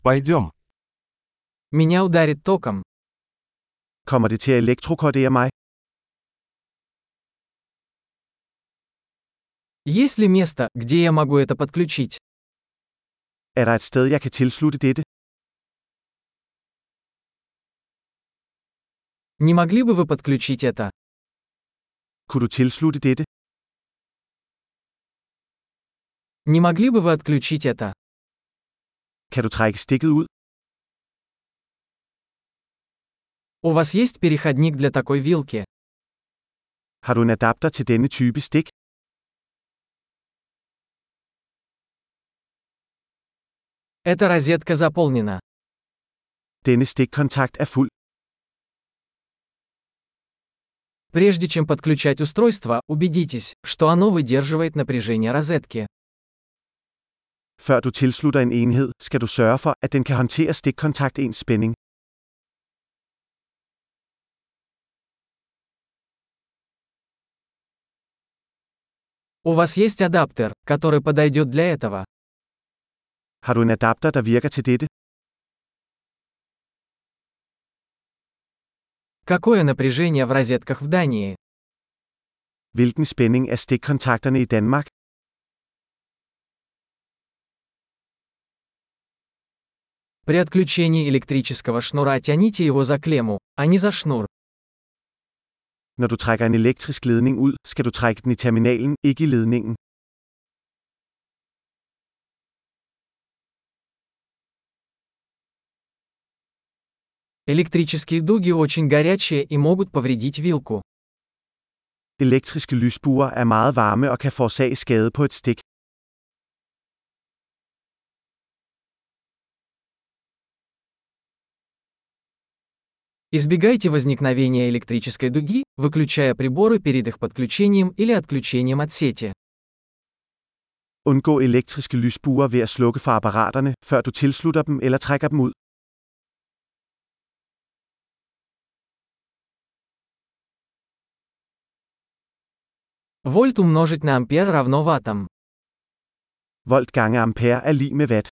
Пойдем. Меня ударит током. Kommer det til at elektrokordere mig? Есть ли место, где я могу это подключить? Er der et sted, jeg kan tilslutte dette? Не могли бы вы подключить это? Kunne du tilslutte dette? Не могли бы вы отключить это? Kan du trække stikket ud? У вас есть переходник для такой вилки? Har du en adapter til denne type stik? Эта розетка заполнена. Denne stikkontakt er fuld. Прежде чем подключать устройство, убедитесь, что оно выдерживает напряжение розетки. Før du tilslutter en enhed, skal du sørge for, at den kan håndtere stikkontaktens spænding. У вас есть адаптер, который подойдет для этого? Har du en adapter, der virker til dette? Какое напряжение в розетках в Дании? Hvilken spænding er stikkontakterne i Danmark? При отключении электрического шнура тяните его за клемму, а не за шнур. Når du trækker en elektrisk ledning ud, skal du trække den i terminalen, ikke i ledningen. Электрические дуги очень горячие и могут повредить вилку. Elektriske lysbuer er meget varme og kan forårsage skade på et stik. Избегайте возникновения электрической дуги, выключая приборы перед их подключением или отключением от сети. Undgå elektriske lysbuer ved at slukke for apparaterne, før du tilslutter dem eller trækker dem ud. Вольт умножить на ампер равно ваттам. Volt gange ampere er lig med watt.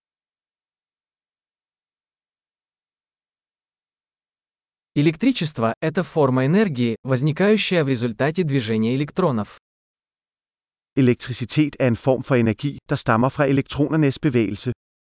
Электричество – это форма энергии, возникающая в результате движения электронов. Elektricitet er en form for energi, der stammer fra elektronernes bevægelse.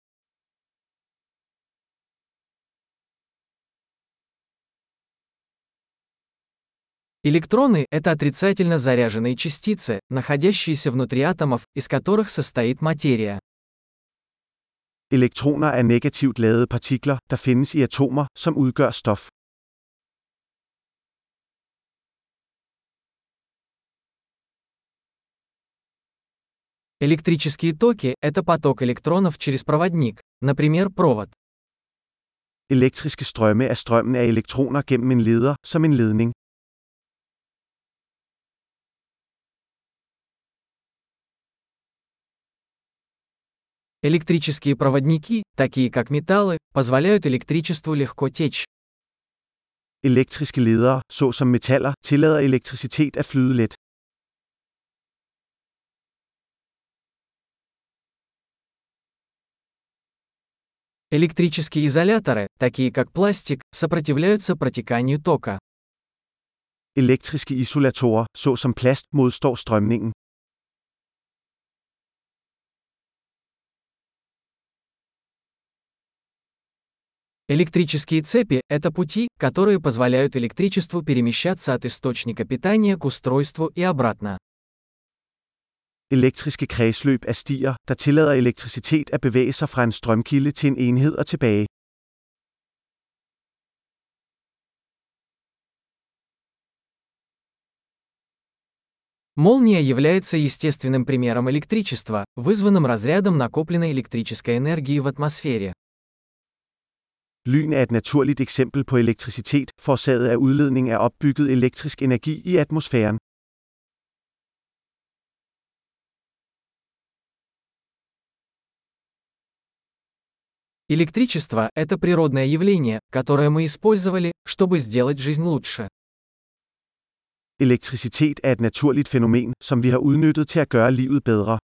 Электроны – это отрицательно заряженные частицы, находящиеся внутри атомов, из которых состоит материя. Elektroner er negativt ladede partikler, der findes i atomer, som udgør stof. Электрические токи – это поток электронов через проводник, например, провод. Elektriske strømme er strømmen af elektroner gennem en leder, som en ledning. Электрические проводники, такие как металлы, позволяют электричеству легко течь. Elektriske ledere, såsom metaller, tillader elektricitet at flyde let. Электрические изоляторы, такие как пластик, сопротивляются протеканию тока. Elektriske isolatorer, såsom plast, modstår strømningen. Электрические цепи – это пути, которые позволяют электричеству перемещаться от источника питания к устройству и обратно. Elektriske kredsløb er stier, der tillader elektricitet at bevæge sig fra en strømkilde til en enhed og tilbage. Молния является естественным примером электричества, вызванным разрядом накопленной электрической энергии в атмосфере. Lyn er et naturligt eksempel på elektricitet, forårsaget af udledning af opbygget elektrisk energi i atmosfæren. Электричество – это природное явление, которое мы использовали, чтобы сделать жизнь лучше. Elektricitet er et naturligt fænomen, som vi har udnyttet til at gøre livet bedre.